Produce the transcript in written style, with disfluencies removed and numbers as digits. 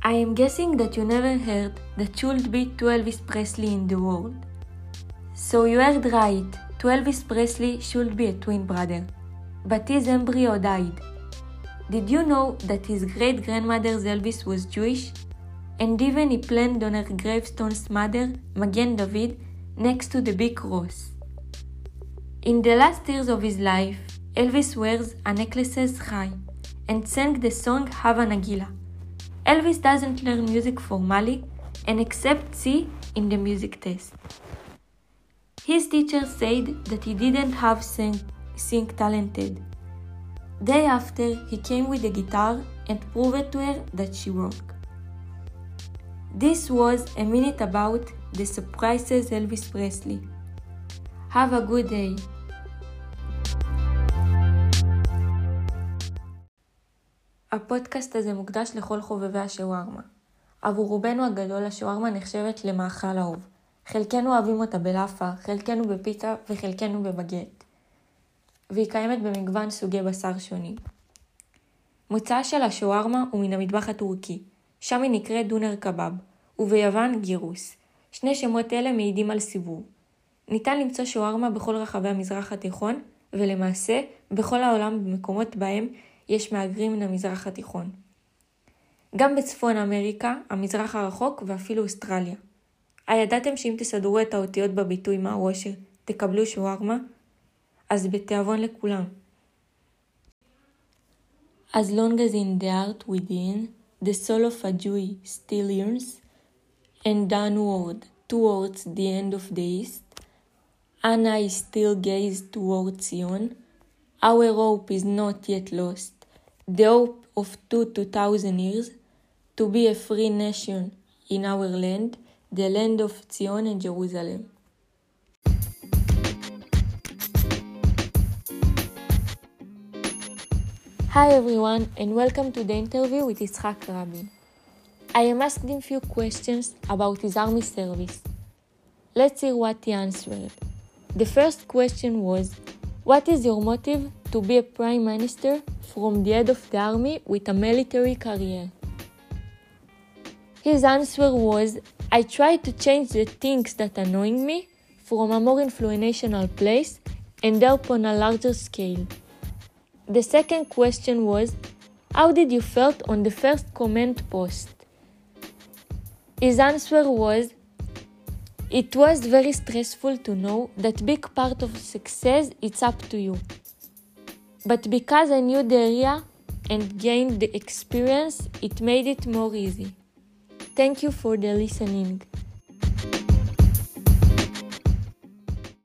I am guessing that you never heard that should be two Elvis Presley in the world. So you heard right, to Elvis Presley should be a twin brother. But his embryo died. Did you know that his great-grandmother's Elvis was Jewish? And even he planned on her gravestone's mother, Magen David, next to the big cross. In the last years of his life, Elvis wears a necklace's chai and sang the song Hava Nagila. Elvis doesn't learn music formally and accepts C in the music test. His teacher said that he didn't have sing talented. Day after, he came with a guitar and proved to her that she worked. This was a minute about the surprises Elvis Presley. Have a good day. הפודקאסט הזה מוקדש לכל חובבי השווארמה. עבור רובנו הגדול השווארמה נחשבת למאכל אהוב. חלקנו אוהבים אותה בלאפה, חלקנו בפיצה וחלקנו בבגט. והיא קיימת במגוון סוגי בשר שונים. מוצאה של השווארמה הוא מן המטבח הטורקי, שם היא נקראת דונר קבב, וביוון גירוס. שני שמות אלה מעידים על סיבוב. ניתן למצוא שווארמה בכל רחבי המזרח התיכון, ולמעשה בכל העולם במקומות בהם יש מהגרים מן המזרח התיכון. גם בצפון אמריקה, המזרח הרחוק ואפילו אוסטרליה. הידעתם שאם תסדרו את האותיות בביטוי מהראש תקבלו שווארמה? אז בתיאבון לכולם. As long as in the heart within, the soul of a Jew still yearns, and downward towards the end of the east, an eye still gaze towards Zion. Our hope is not yet lost, the hope of 2,000 years, to be a free nation in our land, the land of Zion and Jerusalem. Hi everyone, and welcome to the interview with Yitzhak Rabin. I am asking few questions about his army service. Let's hear what he answered. The first question was, what is your motive to be a prime minister from the head of the army with a military career? His answer was, I try to change the things that annoying me from a more influential place and help on a larger scale. The second question was, how did you felt on the first command post? His answer was, it was very stressful to know that big part of success it's up to you. But because I knew the area and gained the experience, it made it more easy. Thank you for the listening.